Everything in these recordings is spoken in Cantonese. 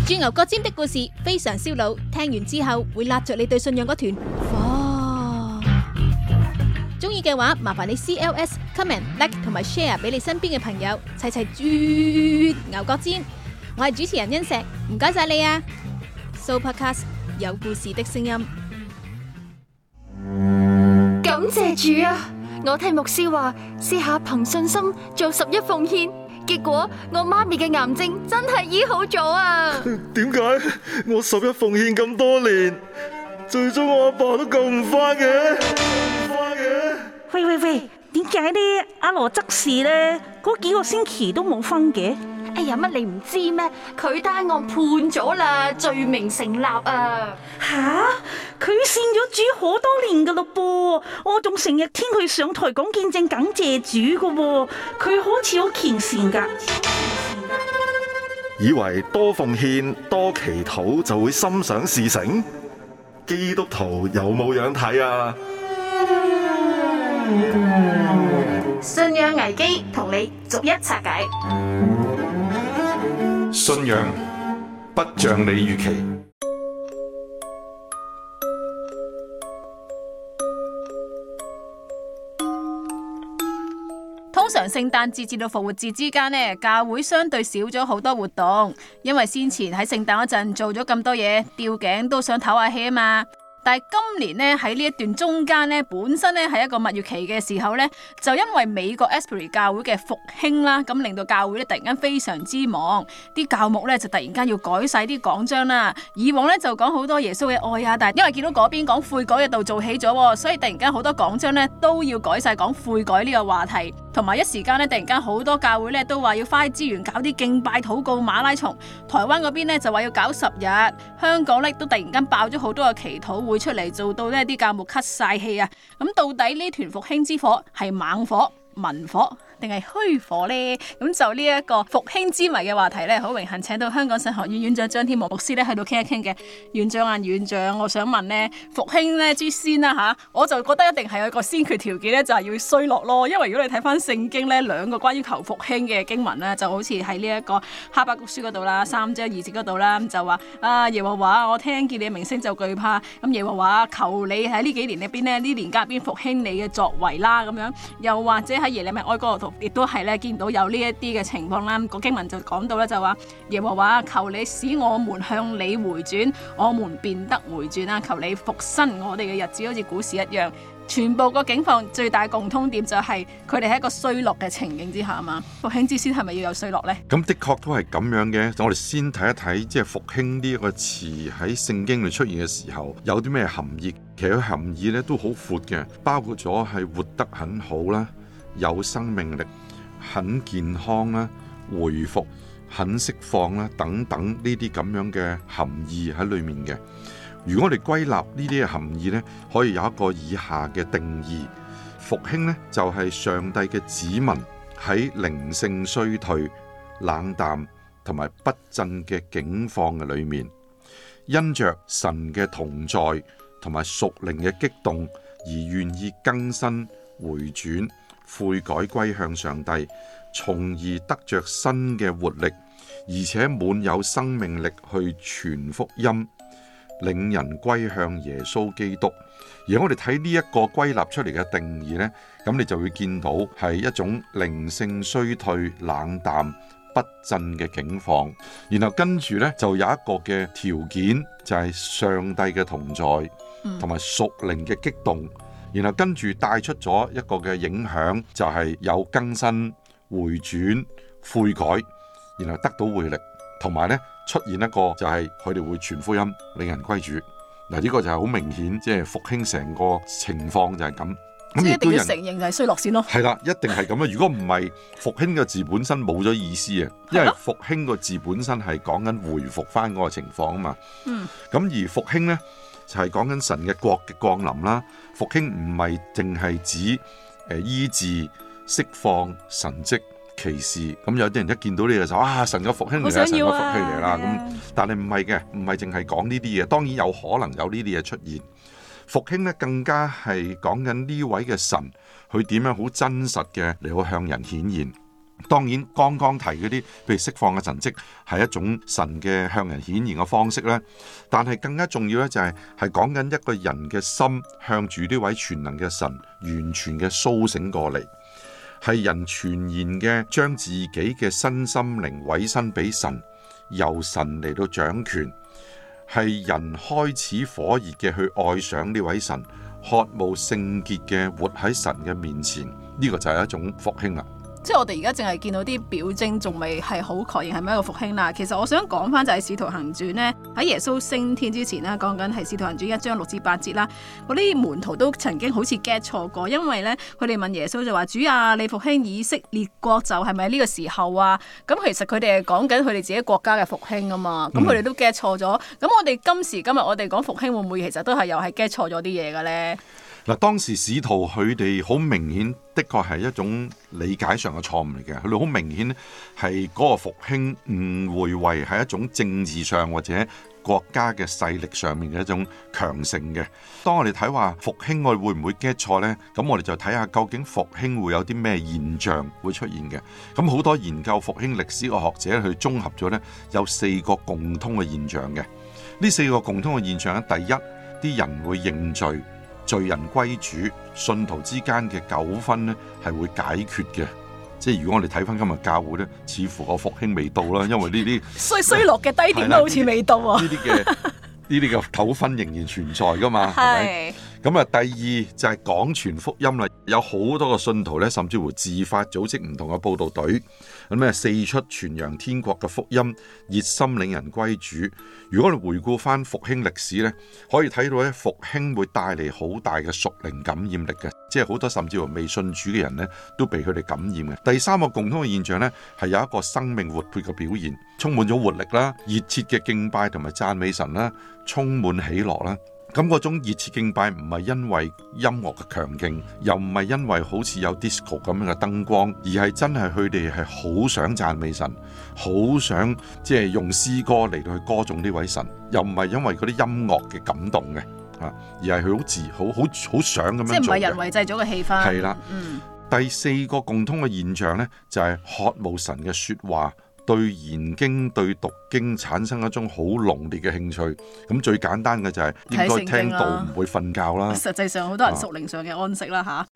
鑽牛角尖的故事非常燒腦，聽完之後會揦着你對信仰嗰團火。中意嘅話，麻煩你 CLS、comment、like 同埋 share 俾你身邊嘅朋友，齊齊鑽牛角尖。我係主持人欣石，唔該晒你啊！Sooopodcast 有故事的聲音。 感謝主啊！我聽牧師話，試下憑信心做11奉獻，結果我媽咪嘅癌症真係醫好咗啊！ 點解我11奉獻咁多年，最終我阿爸都救唔返嘅？ 喂，點解呢？阿羅執事呢？嗰幾個星期都冇分嘅？ 哎呀，乜你唔知咩？佢單案判咗啦，罪名成立啊！ 吓，佢信咗主好多年噶咯噃，我仲成日聽佢上台講見證感謝主噶喎，佢好似好虔善噶。 以為多奉獻多祈禱就會心想事成？基督徒有冇樣睇啊？ 信仰危機同你逐一拆解。 信仰不像你預期。 通常聖誕節至到復活節之間呢，教會相對少咗好多活動，因為先前喺聖誕嗰陣做咗咁多嘢，吊頸都想唞下氣啊嘛。但係今年呢，喺呢一段中間呢，本身呢係一個蜜月期嘅時候呢，就因為美國 Asbury 教會嘅復興啦，咁令到教會呢突然間非常之忙，啲教牧呢就突然間要改晒啲講章啦。以往呢就講好多耶穌嘅愛啊，但係因為見到嗰邊講悔改嘅度做起咗，所以突然間好多講章呢都要改晒講悔改呢個話題，同埋一時間呢，突然間好多教會呢都話要花資源搞啲敬拜禱告馬拉松，台灣嗰邊呢就話要搞10日，香港呢都突然間爆咗好多嘅祈禱會出嚟，做到呢啲教牧咳晒氣啊！咁到底呢團復興之火係猛火、文火定係虛火呢？咁就呢一個復興之謎嘅話題呢，好榮幸請到香港神學院院長張天和牧師呢喺度傾一傾嘅。院長啊，院長，我想問呢，復興呢之先啦吓，我就覺得一定係有一個先決條件呢，就係要衰落咯。因為如果你睇翻聖經呢，兩個關於求復興嘅經文呢，就好似喺呢一個哈巴谷書嗰度啦，3章2節嗰度啦，就話啊，耶和華，我聽見你嘅名聲就懼怕。咁耶和華，求你喺呢幾年入邊呢，呢年間入邊復興你嘅作為啦，咁樣。又或者喺耶利米哀歌度，亦都係咧見到有呢一啲嘅情況啦。個經文就講到咧，就話耶和華，求你使我們向你回轉，我們便得回轉啦。求你復生我哋嘅日子，好似古時一樣。全部個境況最大共通點就係佢哋喺一個衰落嘅情景之下啊嘛。復興之先係咪要有衰落呢？ 咁的確都係咁樣嘅。我哋先睇一睇，即係復興呢一個詞喺聖經裏出現嘅時候有啲咩含義。其實佢含義咧都好闊嘅，包括咗係活得很好啦，有生命力、很健康啦、回復、很釋放啦等等呢啲咁樣嘅含義喺裏面嘅。如果我哋歸納呢啲嘅含義呢，可以有一個以下嘅定義：復興呢，就係上帝嘅子民喺靈性衰退、冷淡同埋不振嘅境況嘅裏面，因着神嘅同在同埋屬靈嘅激動而願意更新、回轉、悔改歸向上帝，從而得着新嘅活力，而且滿有生命力去傳福音，領人歸向耶穌基督。而我哋睇呢一個歸納出嚟嘅定義呢，咁你就會見到係一種靈性衰退、冷淡、不振嘅境況。然後跟住呢，就有一個嘅條件，就係上帝嘅同在同埋屬靈嘅激動。然後跟住帶出咗一個嘅影響，就係有更新、回轉、悔改，然後得到回力，同埋呢出現一個就係佢哋會傳福音，令人歸主。嗱，呢個就係好明顯，即係復興成個情況就係咁。咁一定要承認就係衰落先咯。 係啦，一定係咁啊！如果唔係，復興個字本身冇咗意思啊，因為復興個字本身係講緊回復翻嗰個情況啊嘛。咁而復興呢，就係講緊神嘅國嘅降臨啦。復興唔係淨係指醫治、釋放、神蹟、奇事。咁有啲人一見到呢個就神嘅復興嚟啦，神嘅復興嚟啦。咁但係唔係嘅，唔係淨係講呢啲嘢。當然有可能有呢啲嘢出現。復興咧更加係講緊呢位嘅神，佢點樣好真實嘅嚟到向人顯現。 當然，剛剛提嗰啲，譬如釋放嘅神蹟，係一種神嘅向人顯現嘅方式咧。但係更加重要咧，就係講緊一個人嘅心向住呢位全能嘅神完全嘅甦醒過嚟，係人全然嘅將自己嘅身心靈委身俾神，由神嚟到掌權，係人開始火熱嘅去愛上呢位神，渴慕聖潔嘅活喺神嘅面前，呢個就係一種復興啦。 即係我哋而家淨係見到啲表徵，仲未係好確認係咪一個復興啦。其實我想講翻就係《使徒行傳》呢，喺耶穌升天之前呢，講緊係《使徒行傳》1章6至8節啦。嗰啲門徒都曾經好似 get 錯過，因為呢，佢哋問耶穌就話：主啊，你復興以色列國就係咪呢個時候啊？咁其實佢哋係講緊佢哋自己國家嘅復興啊嘛。咁佢哋都 get 錯咗。咁我哋今時今日我哋講復興會唔會其實都係又係 get 錯咗啲嘢嘅呢？ 嗱，當時使徒佢哋好明顯，的確係一種理解上嘅錯誤嚟嘅。佢哋好明顯係嗰個復興誤會為係一種政治上或者國家嘅勢力上面嘅一種強盛嘅。當我哋睇話復興，我哋會唔會 get 錯呢？咁我哋就睇下究竟復興會有啲咩現象會出現嘅。咁好多研究復興歷史嘅學者去綜合咗呢，有4個共通嘅現象嘅。呢4個共通嘅現象咧，第一，啲人會認罪。罪人歸主，信徒之間嘅糾紛呢係會解決嘅。即係如果我哋睇翻今日教會呢，似乎個復興未到啦，因為呢啲衰落嘅低點都好似未到啊。 呢啲嘅糾紛仍然存在噶嘛，係咪？咁啊，第二就係廣傳福音啦，有好多個信徒咧，甚至乎自發組織唔同嘅佈道隊，咁啊四出傳揚天國嘅福音，熱心領人歸主。如果我哋回顧翻復興歷史咧，可以睇到咧復興會帶嚟好大嘅屬靈感染力嘅，即係好多甚至乎未信主嘅人咧都被佢哋感染嘅。第三個共通嘅現象咧，係有一個生命活潑嘅表現，充滿咗活力啦，熱切嘅敬拜同埋讚美神啦，充滿喜樂啦。咁嗰種熱切敬拜唔係因為音樂嘅強勁，又唔係因為好似有 disco 咁樣嘅燈光，而係真係佢哋係好想讚美神，好想即係用詩歌嚟到去歌頌呢位神，又唔係因為嗰啲音樂嘅感動嘅，而係佢好想咁樣做嘅。即係唔係人為製造嘅氣氛。係啦，第四個共通嘅現象呢，就係渴慕神嘅說話。對研經對讀經產生一種好濃烈嘅興趣，咁最簡單嘅就係應該聽道唔會瞓覺啦。 實際上好多人屬靈上嘅安息啦吓。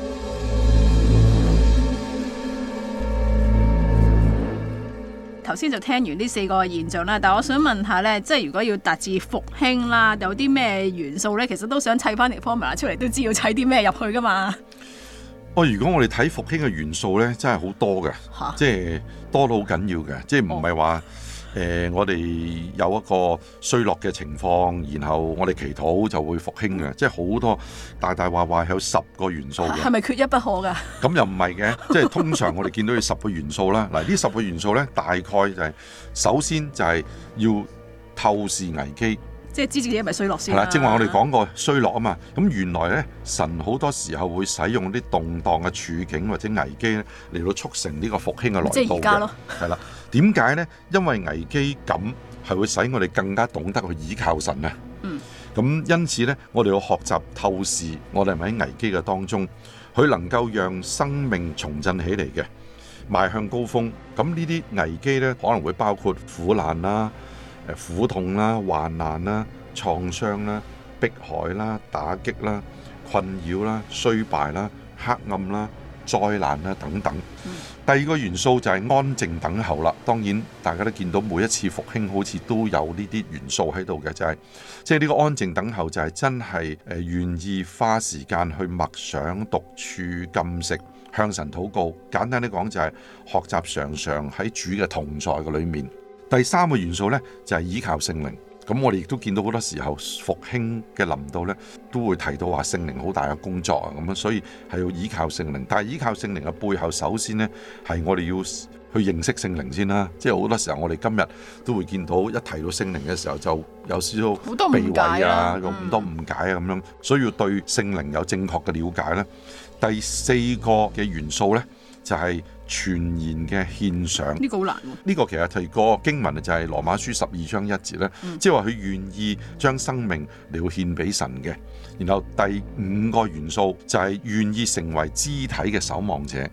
頭先就聽完呢4個現象啦，但係我想問下呢，即係如果要達至復興啦，有啲咩元素呢？其實都想砌翻條 formula 出嚟，都知要砌啲咩入去噶嘛。 如果我哋睇復興嘅元素呢，真係好多嘅，即係多到好緊要嘅，即係唔係話我哋有一個衰落嘅情況，然後我哋祈禱就會復興嘅，即係好多大話有10個元素嘅。係咪缺一不可㗎？咁又唔係嘅，即係通常我哋見到有10個元素啦。嗱，呢10個元素呢，大概就係首先就係要透視危機。即係知自己係咪衰落先啦。係啦，正話我哋講過衰落啊嘛。咁原來咧，神好多時候會使用啲動盪嘅處境或者危機咧，嚟到促成呢個復興嘅來到嘅。即係而家咯。係啦，點解咧？因為危機感係會使我哋更加懂得去倚靠神啊。咁因此咧，我哋要學習透視，我哋係咪喺危機嘅當中，佢能夠讓生命重振起嚟嘅，邁向高峰。咁呢啲危機咧，可能會包括苦難啦。苦痛啦、患難啦、創傷啦、迫害啦、打擊啦、困擾啦、衰敗啦、黑暗啦、災難啦等等。第二個元素就係安靜等候啦。當然大家都見到每一次復興好似都有呢啲元素喺度嘅，就係即係呢個安靜等候就係真係願意花時間去默想、獨處、禁食、向神禱告。簡單啲講就係學習常常喺主嘅同在嘅裏面。第三個元素呢，就係依靠聖靈。咁我哋亦都見到好多時候復興嘅臨到呢，都會提到話聖靈好大嘅工作啊，咁樣，所以係要依靠聖靈。但係依靠聖靈嘅背後，首先呢，係我哋要去認識聖靈先啦。即係好多時候我哋今日都會見到一提到聖靈嘅時候，就有少少避諱啊，有咁多誤解啊咁樣，所以要對聖靈有正確嘅了解呢。第四個嘅元素呢，就係全然嘅獻上。呢個好難喎。呢個其實提個經文就係羅馬書12章1節咧，即係話佢願意將生命嚟到獻俾神嘅。然後第5個元素就係願意成為肢體嘅守望者。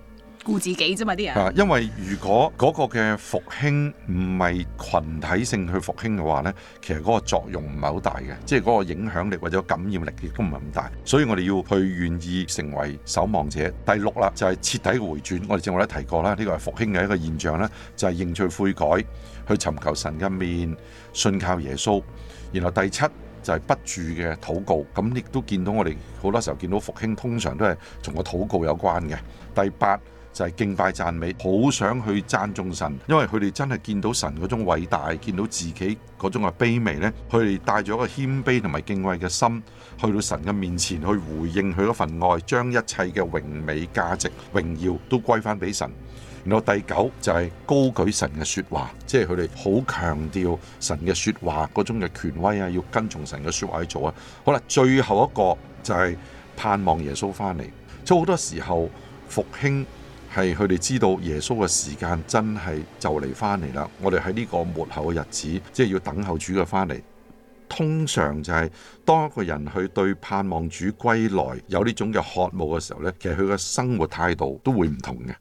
顧自己啫嘛啲人。 因為如果嗰個嘅復興唔係群體性去復興嘅話呢，其實嗰個作用唔係好大嘅，即係嗰個影響力或者感染力亦都唔係咁大。所以我哋要去願意成為守望者。第6啦，就係徹底嘅回轉。我哋正話都提過啦，呢個係復興嘅一個現象啦，就係認罪悔改，去尋求神嘅面，信靠耶穌。然後第7就係不住嘅禱告。咁亦都見到我哋好多時候見到復興通常都係同個禱告有關嘅。第8就係敬拜讚美，好想去讚頌神，因為佢哋真係見到神嗰種偉大，見到自己嗰種嘅卑微呢，佢哋帶咗一個謙卑同埋敬畏嘅心，去到神嘅面前去回應佢嗰份愛，將一切嘅榮美價值榮耀都歸翻俾神。然後第9就係高舉神嘅說話，即係佢哋好強調神嘅說話嗰種嘅權威啊，要跟從神嘅說話去做啊。好啦，最後一個就係盼望耶穌翻嚟。所以好多時候復興係佢哋知道耶穌嘅時間真係就嚟翻嚟啦。我哋喺呢個末後嘅日子，即係要等候主嘅翻嚟。通常就係當一個人去對盼望主歸來有呢種嘅渴慕嘅時候呢，其實佢嘅生活態度都會唔同嘅。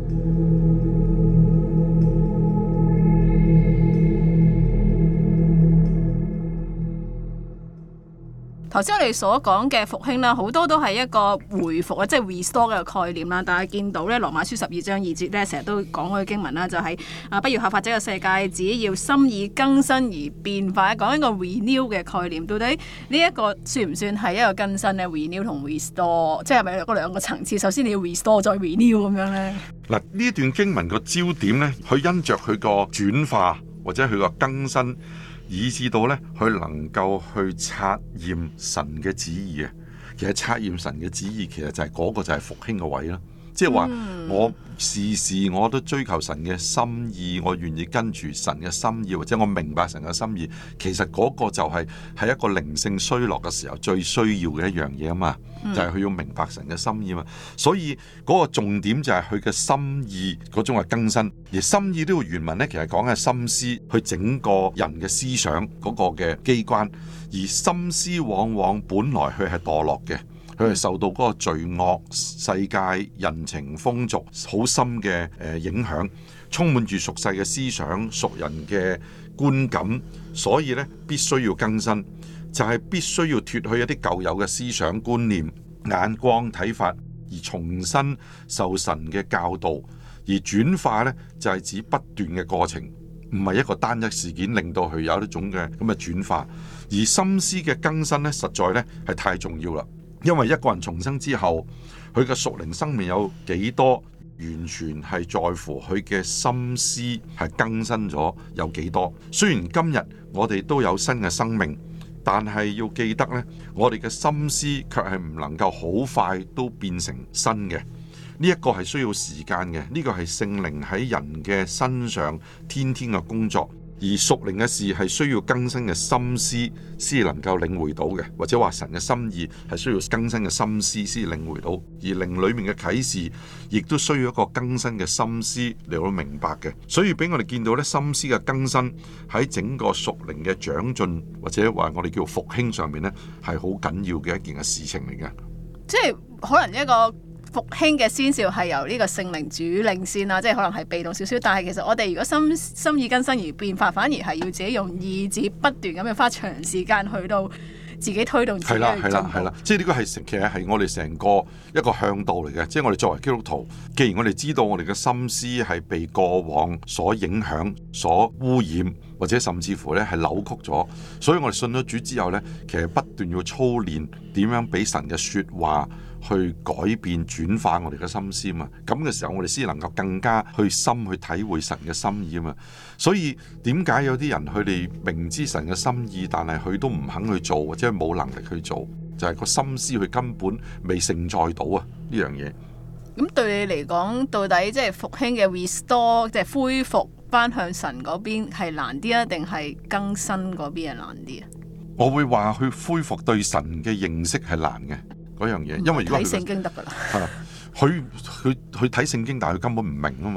頭先我哋所講嘅復興啦，好多都係一個回復啊，即係 restore 嘅概念啦。但係見到咧，羅馬書12章2節咧，成日都講嗰個經文啦，就係不要效法這個世界，只要心意更新而變化，講一個 renew 嘅概念。到底呢一個算唔算係一個更新咧？renew 同 restore，即係咪嗰兩個層次？首先你要 restore 再 renew 咁樣咧？ 嗱，呢段經文個焦點咧，佢因着佢個轉化或者佢個更新，以至到咧，佢能夠去察驗神嘅旨意啊！其實察驗神嘅旨意，其實就係嗰個就係復興嘅位啦。即係話我時時我都追求神嘅心意，我願意跟住神嘅心意，或者我明白神嘅心意。其實嗰個就係喺一個靈性衰落嘅時候最需要嘅一樣嘢啊嘛，就係佢要明白神嘅心意啊嘛。所以嗰個重點就係佢嘅心意嗰種嘅更新。而心意呢個原文呢，其實講嘅係心思，去整個人嘅思想嗰個嘅機關。而心思往往本來佢係墮落嘅。佢係受到嗰個罪惡世界人情風俗好深嘅影響，充滿住俗世嘅思想、俗人嘅觀感，所以咧必須要更新，就係必須要脫去一啲舊有嘅思想觀念、眼光睇法，而重新受神嘅教導，而轉化咧就係指不斷嘅過程，唔係一個單一事件令到佢有一種嘅咁嘅轉化，而心思嘅更新咧實在咧係太重要啦。因為一個人重生之後，佢嘅屬靈生命有幾多，完全係在乎佢嘅心思係更新咗有幾多。雖然今日我哋都有新嘅生命，但係要記得呢，我哋嘅心思卻係唔能夠好快都變成新嘅。呢一個係需要時間嘅，呢個係聖靈喺人嘅身上天天嘅工作。而屬靈嘅事係需要更新嘅心思先能夠領會到嘅，或者話神嘅心意係需要更新嘅心思先領會到，而靈裏面嘅啟示亦都需要一個更新嘅心思嚟到明白嘅。所以俾我哋見到咧，心思嘅更新喺整個屬靈嘅長進或者話我哋叫復興上面咧，係好緊要嘅一件嘅事情嚟嘅。 即係可能一個復興嘅先兆係由呢個聖靈主領先啦，即係可能係被動少少，但係其實我哋如果心意更新而變化，反而係要自己用意志不斷咁樣花長時間去到自己推動自己去進步。 係啦，即係呢個係其實係我哋成個一個向導嚟嘅。即係我哋作為基督徒，既然我哋知道我哋嘅心思係被過往所影響、所污染，或者甚至乎咧係扭曲咗，所以我哋信咗主之後咧，其實不斷要操練點樣俾神嘅說話去改變轉化我哋嘅心思嘛，咁嘅時候我哋先能夠更加去深去體會神嘅心意啊嘛。所以點解有啲人佢哋明知神嘅心意，但係佢都唔肯去做，或者冇能力去做，就係個心思佢根本未承載到啊呢樣嘢。 咁對你嚟講，到底即係復興嘅 restore， 即係恢復翻向神嗰邊係難啲啊，定係更新嗰邊係難啲啊？我會話去恢復對神嘅認識係難嘅。嗰樣嘢，因為如果睇聖經得噶啦， 佢睇聖經，但係佢根本唔明啊嘛。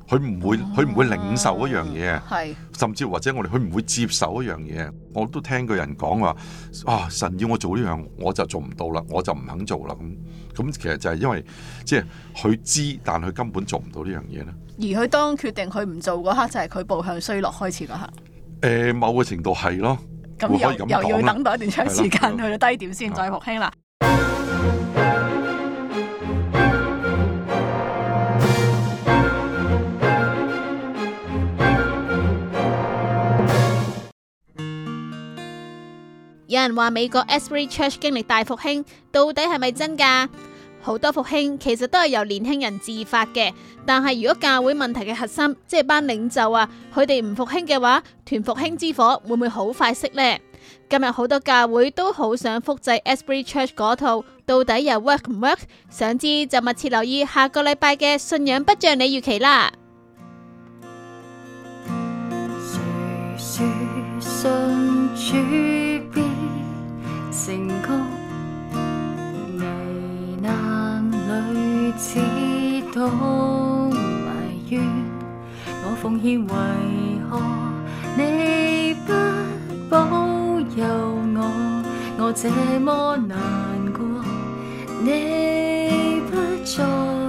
佢唔會領受一樣嘢， 係甚至或者佢唔會接受一樣嘢。我都聽過人講話神要我做呢樣，我就做唔到啦，我就唔肯做啦。咁其實就係因為即係佢知，但佢根本做唔到呢樣嘢咧。 而佢當決定佢唔做嗰刻，就係佢步向衰落開始嗰刻。 某個程度係咯。 咁又要等待一段長時間去到低點先再復興啦。有人話美國 Asbury Church 經歷大復興，到底係咪真㗎？好多復興其實都係由年輕人自發嘅，但係如果教會問題嘅核心，即係班領袖啊，佢哋唔復興嘅話，團復興之火會唔會好快熄呢？今日好多教會都好想複製 Asbury Church 嗰套，到底又 work 唔 work？ 想知就密切留意下個禮拜嘅信仰不像你預期啦。 誰說信主必成功？危難裏只懂埋怨，我奉獻為何你不保佑我這麼難過，你不在。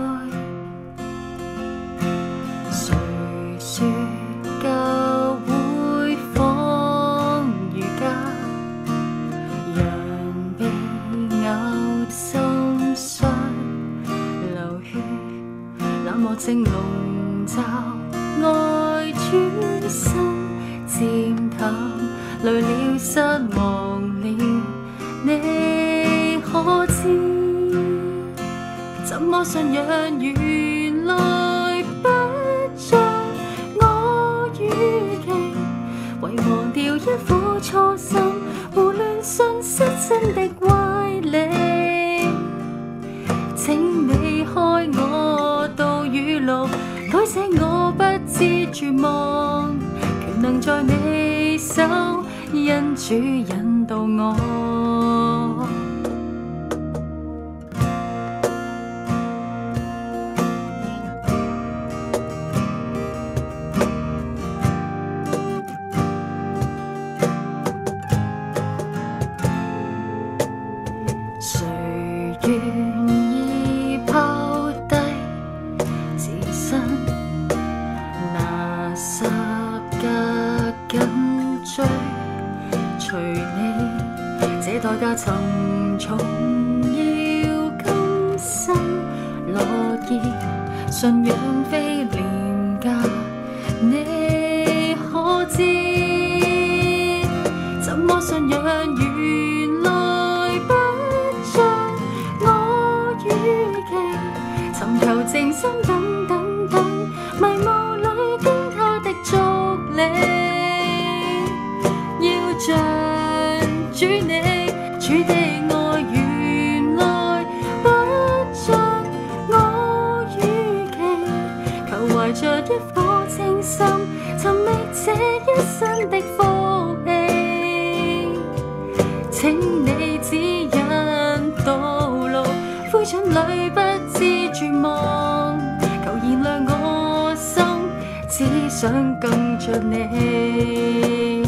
誰說教會仿如家，羊被咬心傷流血，冷漠正籠罩愛轉身漸淡，累了失望了，你可知？怎麼信仰原來不像我預期，遺忘掉一顆初心，胡亂信失真的歪理。請你開我道語錄，改寫我不知絕望，權能在你手，因主引導我。誰願意拋低自身，拿十架緊追隨你，這代價沉重，要甘心樂意，信仰非廉價，你可知？怎麼信仰原來不像我預期，尋求靜心等等等，迷霧裏跟他的足理。要像主你，主的愛原來不像我預期，求懷着一顆清心，尋覓這一生的福氣。請你指引道路，灰燼裏不知絕望，求燃亮我心，只想更像你。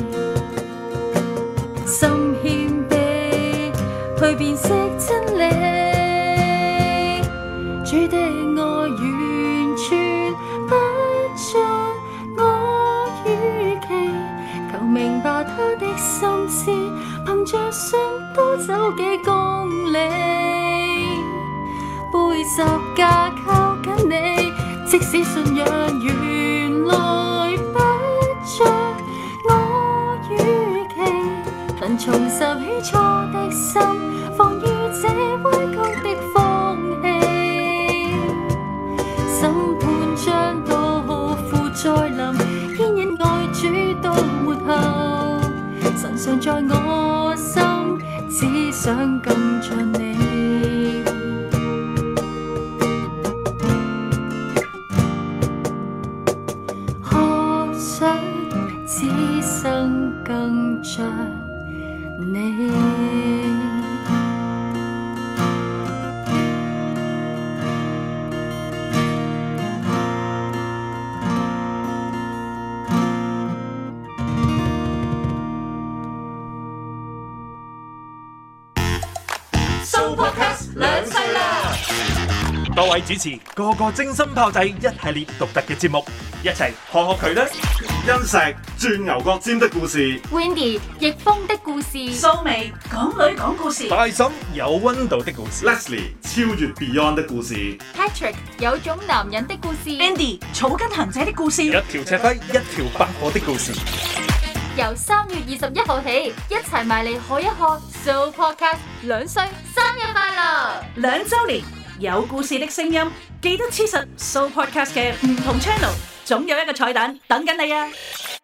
心謙卑去辨識真理，主的愛完全不像我預期，求明白他的心思，憑着信多走幾公里，背十架靠緊你，即使信仰原來不像我預期，能重拾起初的心，防禦這歪曲的風氣。審判將到，父再臨，牽引愛主到末後，神常在我心，只想更像你。學想此生更像你。 Sooo Podcast 兩歲啦！ 多位主持個個精心炮製一系列獨特嘅節目，一齊學佢啦！ 欣石鑽牛角尖的故事， Wendy 逆風的故事， 蘇眉港女講故事， 大嬸有溫度的故事， Leslie 超越 Beyond 的故事， Patrick 有種男人的故事， Andy 草根行者的故事， 一條赤輝一條白火的故事。 由3月21號起，一齊埋嚟學一學 Sooo Podcast 兩歲生日快樂 2週年有故事的聲音，記得黐實 Sooo Podcast 嘅唔同 channel，總有一個彩蛋等緊你啊！